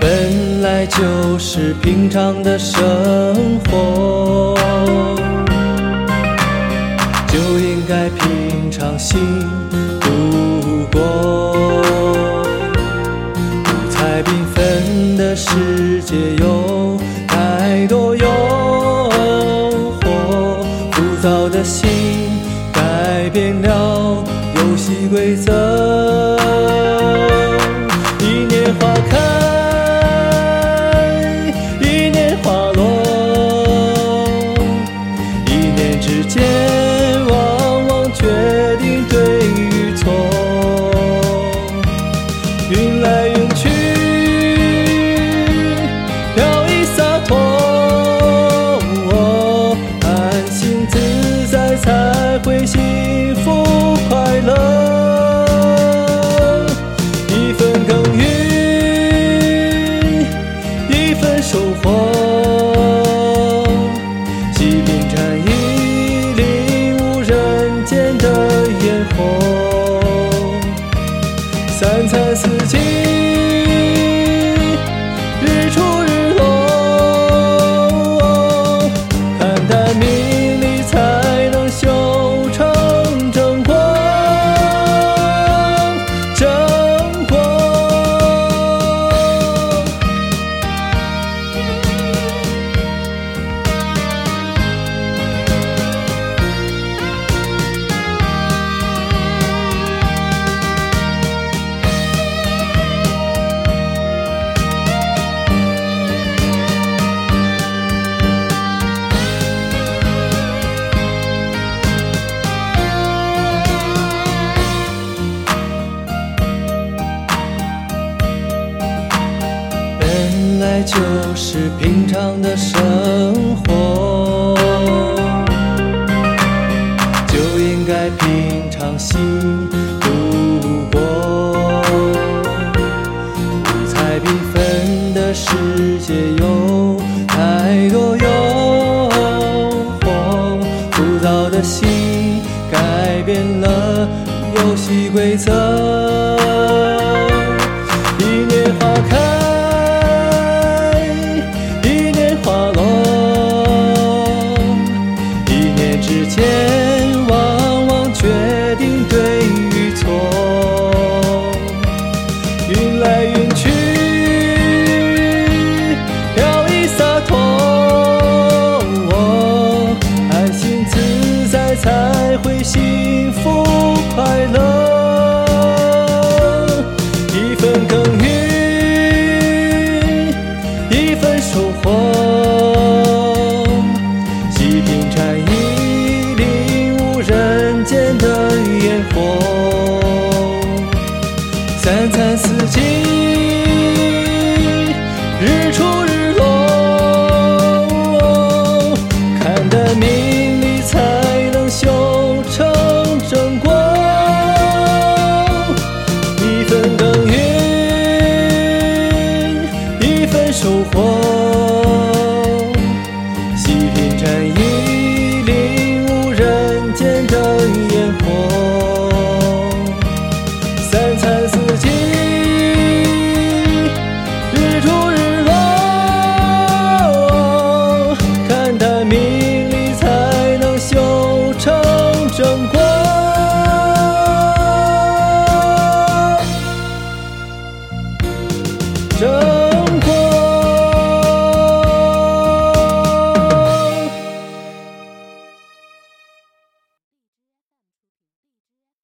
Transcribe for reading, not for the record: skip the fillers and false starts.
本来就是平常的生活，就应该平常心度过。五彩缤纷的世界有太多诱惑，浮躁的心改变了游戏规则。一年花开，一年花落，一念之间往往决定对与错。云来云去，飘逸洒脱，安心自在才会幸福快乐。一分耕耘，一分收获，细品禅意，领悟人间的烟火。三餐四季，日出日落，看淡名利才能修成正果。本来就是平常的生活，就应该平常心度过。五彩缤纷的世界有太多诱惑，浮躁的心改变了游戏规则。一年花开，之间往往决定对与错。云来云去，飘逸洒脱，安心自在才会幸福快乐。一分耕耘，一分收获，细品禅意，人间的烟火。